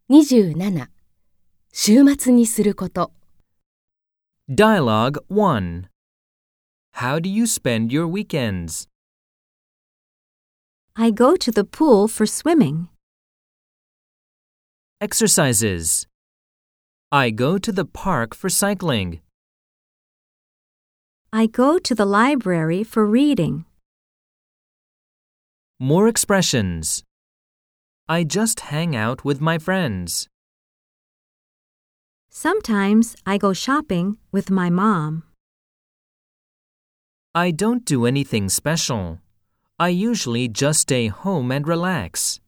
27. 週末にすること。 Dialogue 1. How do you spend your weekends? I go to the pool for swimming. Exercises. I go to the park for cycling. I go to the library for reading. More expressions. I just hang out with my friends. Sometimes I go shopping with my mom. I don't do anything special. I usually just stay home and relax.